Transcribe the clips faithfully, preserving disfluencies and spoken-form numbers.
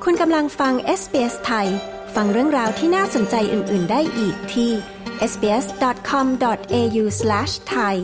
คุณกำลังฟัง เอส บี เอส ไทยฟังเรื่องราวที่น่าสนใจอื่นๆได้อีกที่ เอส บี เอส ดอท คอม ดอท เอ ยู สแลช ไทย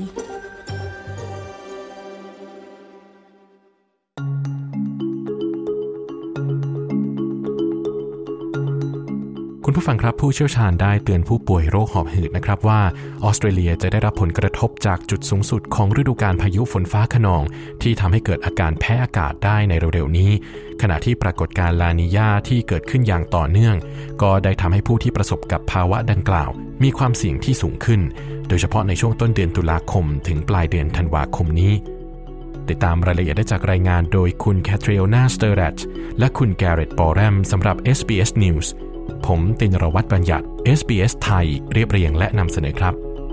คุณผู้ฟังครับผู้เชี่ยวชาญได้เตือนผู้ป่วยโรคหอบหืดนะครับว่าออสเตรเลียจะได้รับผลกระทบจากจุดสูงสุดของฤดูกาลพายุฝนฟ้าคะนองที่ทำให้เกิดอาการแพ้อากาศได้ในเร็วๆนี้ขณะที่ปรากฏการณ์ลานีญาที่เกิดขึ้นอย่างต่อเนื่องก็ได้ทำให้ผู้ที่ประสบกับภาวะดังกล่าวมีความเสี่ยงที่สูงขึ้นโดยเฉพาะในช่วงต้นเดือนตุลาคมถึงปลายเดือนธันวาคมนี้ติดตามรายละเอียดได้จากรายงานโดยคุณแคทรีโอนาสเตอร์แรตและคุณแกเร็ตบอแรมสำหรับ เอส บี เอส Newsผมตินรวัตรบัญญัติ เอส บี เอส ไทยเรียบเรียงและนำเสนอครับ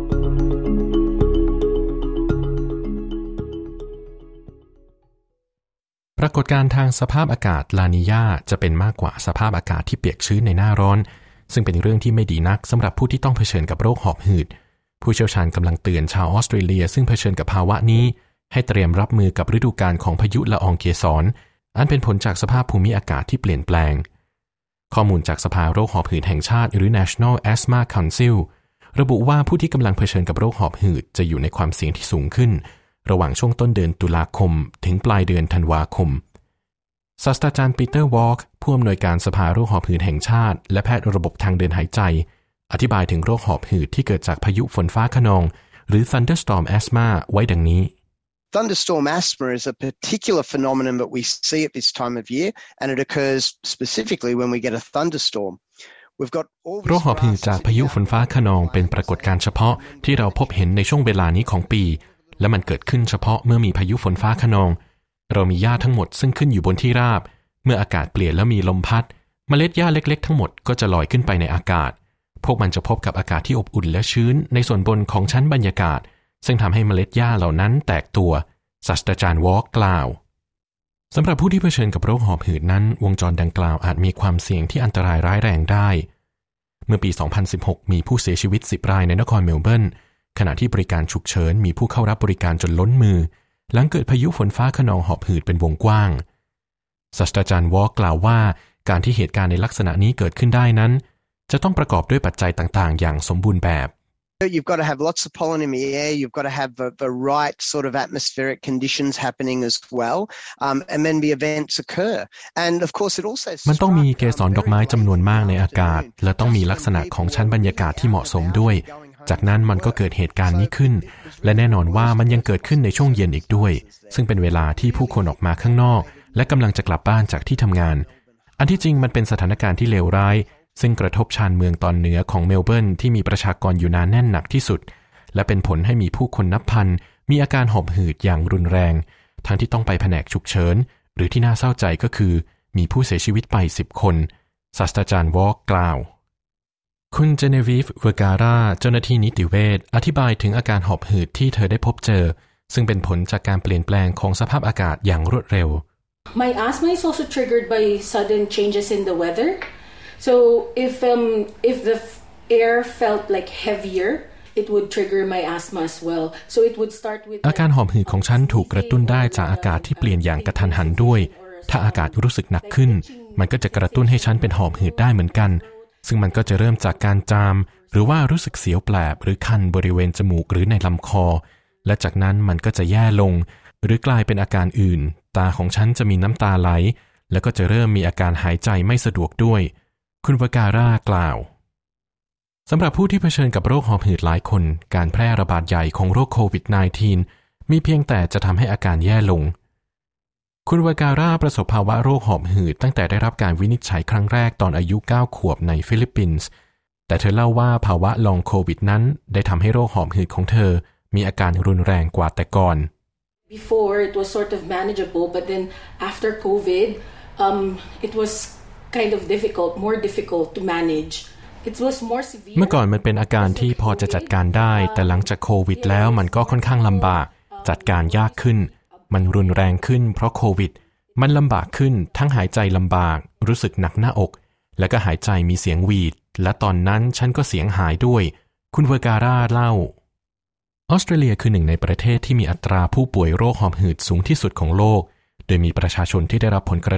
ปรากฏการณ์ทางสภาพอากาศลานีญาจะเป็นมากกว่าสภาพอากาศที่เปียกชื้นในหน้าร้อนซึ่งเป็นเรื่องที่ไม่ดีนักสำหรับผู้ที่ต้องเผชิญกับโรคหอบหืดผู้เชี่ยวชาญกำลังเตือนชาวออสเตรเลียซึ่งเผชิญกับภาวะนี้ให้เตรียมรับมือกับฤดูกาลของพายุละอองเกสรอันเป็นผลจากสภาพภูมิอากาศที่เปลี่ยนแปลงข้อมูลจากสภาโรคหอบหืดแห่งชาติหรือ National Asthma Council ระบุว่าผู้ที่กำลังเผชิญกับโรคหอบหืดจะอยู่ในความเสี่ยงที่สูงขึ้นระหว่างช่วงต้นเดือนตุลาคมถึงปลายเดือนธันวาคมศาสตราจารย์ปีเตอร์วอล์กผู้อำนวยการสภาโรคหอบหืดแห่งชาติและแพทย์ระบบทางเดินหายใจอธิบายถึงโรคหอบหืดที่เกิดจากพายุฝนฟ้าคะนองหรือ Thunderstorm Asthma ไว้ดังนี้ Thunderstorm asthma is a particular phenomenon that we see at this time of year, and it occurs specifically when we get a thunderstorm. We've got all โรคหอบหืดจากพายุฝนฟ้าคะนองเป็นปรากฏการณ์เฉพาะที่เราพบเห็นในช่วงเวลานี้ของปีและมันเกิดขึ้นเฉพาะเมื่อมีพายุฝนฟ้าคะนองเรามีหญ้าทั้งหมดซึ่งขึ้นอยู่บนที่ราบเมื่ออากาศเปลี่ยนแล้วมีลมพัดเมล็ดหญ้าเล็กๆทั้งหมดก็จะลอยขึ้นไปในอากาศพวกมันจะพบกับอากาศที่อบอุ่นและชื้นในส่วนบนของชั้นบรรยากาศซึ่งทำให้เมล็ดหญ้าเหล่านั้นแตกตัวศาสตราจารย์วอล์กกล่าวสำหรับผู้ที่เผชิญกับโรคหอบหืดนั้นวงจรดังกล่าวอาจมีความเสี่ยงที่อันตรายร้ายแรงได้เมื่อปี สองพันสิบหก มีผู้เสียชีวิตสิบรายในนครเมลเบิร์นขณะที่บริการฉุกเฉินมีผู้เข้ารับบริการจนล้นมือหลังเกิดพายุฝนฟ้าคะนองหอบหืดเป็นวงกว้างศาสตราจารย์วอล์กกล่าวว่าการที่เหตุการณ์ในลักษณะนี้เกิดขึ้นได้นั้นจะต้องประกอบด้วยปัจจัยต่างๆอย่างสมบูรณ์แบบ You've got to have lots of pollen in the air. You've got to have the, the right sort of atmospheric conditions happening as well, um, and then the events occur. And of course, it also มันต้องมีเกสรดอกไม้จำนวนมากในอากาศและต้องมีลักษณะของชั้นบรรยากาศที่เหมาะสมด้วยจากนั้นมันก็เกิดเหตุการณ์นี้ขึ้นและแน่นอนว่ามันยังเกิดขึ้นในช่วงเย็นอีกด้วยซึ่งเป็นเวลาที่ผู้คนออกมาข้างนอกและกำลังจะกลับบ้านจากที่ทำงานอันที่จริงมันเป็นสถานการณ์ที่เลวร้ายซึ่งกระทบชานเมืองตอนเหนือของเมลเบิร์นที่มีประชากรอยู่หนาแน่นหนักที่สุดและเป็นผลให้มีผู้คนนับพันมีอาการหอบหืดอย่างรุนแรงทั้งที่ต้องไปแผนกฉุกเฉินหรือที่น่าเศร้าใจก็คือมีผู้เสียชีวิตไปสิบคนศาสตราจารย์วอล์กกล่าวคุณเจเนวีฟเวอร์การาเจ้าหน้าที่นิติเวชอธิบายถึงอาการหอบหืดที่เธอได้พบเจอซึ่งเป็นผลจากการเปลี่ยนแปลงของสภาพอากาศอย่างรวดเร็ว My asthma is also triggered by sudden changes in the weather. So if um if the air felt like heavier, it would trigger my asthma as well. So it would start with อาการหอบหืดของฉันถูกกระตุ้นได้จากอากาศที่เปลี่ยนอย่างกระทันหันด้วยถ้าอากาศรู้สึกหนักขึ้นมันก็จะกระตุ้นให้ฉันเป็นหอบหืดได้เหมือนกันซึ่งมันก็จะเริ่มจากการจามหรือว่ารู้สึกเสียวแปลบหรือคันบริเวณจมูกหรือในลำคอและจากนั้นมันก็จะแย่ลงหรือกลายเป็นอาการอื่นตาของฉันจะมีน้ำตาไหลแล้วก็จะเริ่มมีอาการหายใจไม่สะดวกด้วยคุณวการากล่าวสำหรับผู้ที่เผชิญกับโรคหอบหืดหลายคนการแพร่ระบาดใหญ่ของโรคโควิด สิบเก้า มีเพียงแต่จะทำให้อาการแย่ลงคุณวการาประสบภาวะโรคหอบหืดตั้งแต่ได้รับการวินิจฉัยครั้งแรกตอนอายุเก้าขวบในฟิลิปปินส์แต่เธอเล่าว่าภาวะลองโควิดนั้นได้ทำให้โรคหอบหืดของเธอมีอาการรุนแรงกว่าแต่ก่อน Before it was sort of manageable, but then after COVID, um, it was kind of difficult, more difficult to manage. It was more severe. เมื่อก่อนมันเป็นอาการที่พอจะจัดการได้แต่หลังจากโควิดแล้วมันก็ค่อนข้างลำบากจัดการยากขึ้นมันรุนแรงขึ้นเพราะโควิดมันลำบากขึ้นทั้งหายใจลำบากรู้สึกหนักหน้าอกแล้วก็หายใจมีเสียงหวีดและตอนนั้นฉันก็เสียงหายด้วยคุณเวอร์การาเล่าออสเตรเลียคือหนึ่งในประเทศที่มีอัตราผู้ป่วยโรคหอบหืดสูงที่สุดของโลกโดยมีประชาชนที่ได้รับผลกระทบ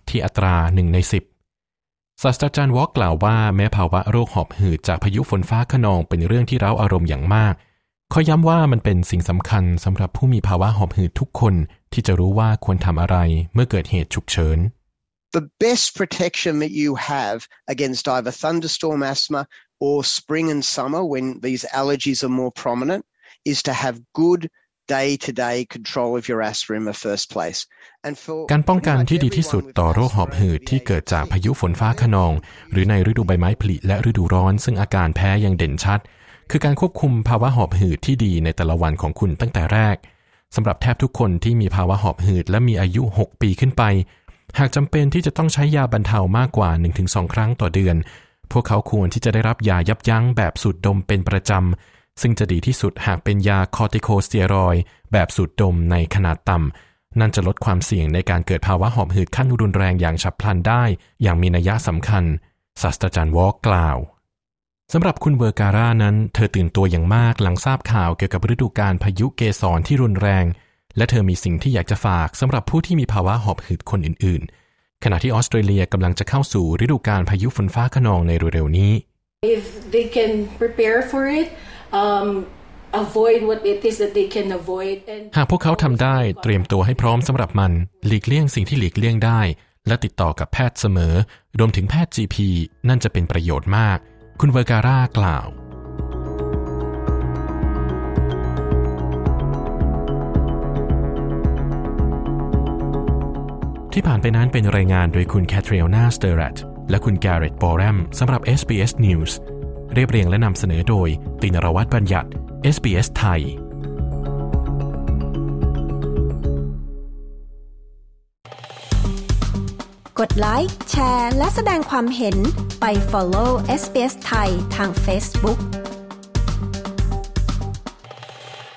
ที่อัตราหนึ่งในสิบศาสตราจารย์วอล์กกล่าวว่าแม้ภาวะโรคหอบหืดจากพายุฝนฟ้าคะนองเป็นเรื่องที่เร้าอารมณ์อย่างมากเขาย้ำว่ามันเป็นสิ่งสำคัญสำหรับผู้มีภาวะหอบหืดทุกคนที่จะรู้ว่าควรทำอะไรเมื่อเกิดเหตุฉุกเฉิน The best protection that you have against either thunderstorm asthma or spring and summer when these allergies are more prominent is to have good day-to-day control of your asthma in the first place. And for การป้องกันที่ดีที่สุดต่อโรคหอบหืดที่เกิดจากพายุฝนฟ้าคะนองหรือในฤดูใบไม้ผลิและฤดูร้อนซึ่งอาการแพ้ยังเด่นชัดคือการควบคุมภาวะหอบหืดที่ดีในแต่ละวันของคุณตั้งแต่แรกสำหรับแทบทุกคนที่มีภาวะหอบหืดและมีอายุหกปีขึ้นไปหากจำเป็นที่จะต้องใช้ยาบรรเทามากกว่า หนึ่งถึงสอง ครั้งต่อเดือนพวกเขาควรที่จะได้รับยายับยั้งแบบสูดดมเป็นประจำซึ่งจะดีที่สุดหากเป็นยาคอร์ติโคสเตียรอยด์แบบสูดดมในขนาดต่ำนั่นจะลดความเสี่ยงในการเกิดภาวะหอบหืดขั้นรุนแรงอย่างฉับพลันได้อย่างมีนัยสำคัญศาสตราจารย์วอล์กกล่าวสำหรับคุณเวอร์การ่านั้นเธอตื่นตัวอย่างมากหลังทราบข่าวเกี่ยวกับฤดูกาลพายุเกสรที่รุนแรงและเธอมีสิ่งที่อยากจะฝากสำหรับผู้ที่มีภาวะหอบหืดคนอื่นๆขณะที่ออสเตรเลียกำลังจะเข้าสู่ฤดูกาลพายุฝนฟ้าคะนองในเร็วๆนี้ If they can prepare for it, um, avoid what it is that they can avoid. And หากพวกเขาทำได้เตรียมตัวให้พร้อมสำหรับมันหลีกเลี่ยงสิ่งที่หลีกเลี่ยงได้และติดต่อกับแพทย์เสมอรวมถึงแพทย์ จี พี นั่นจะเป็นประโยชน์มากคุณเวอร์การ่ากล่าวที่ผ่านไปนั้นเป็นรายงานโดยคุณแคทรีนาสเตอรัตและคุณแกเรตบอแรมสำหรับ เอส บี เอส News เรียบเรียงและนำเสนอโดยตินรวัฒน์บัญญัติ เอส บี เอส ไทยกดไลค์แชร์และแสดงความเห็นไป follow เอส บี เอส ไทยทาง Facebook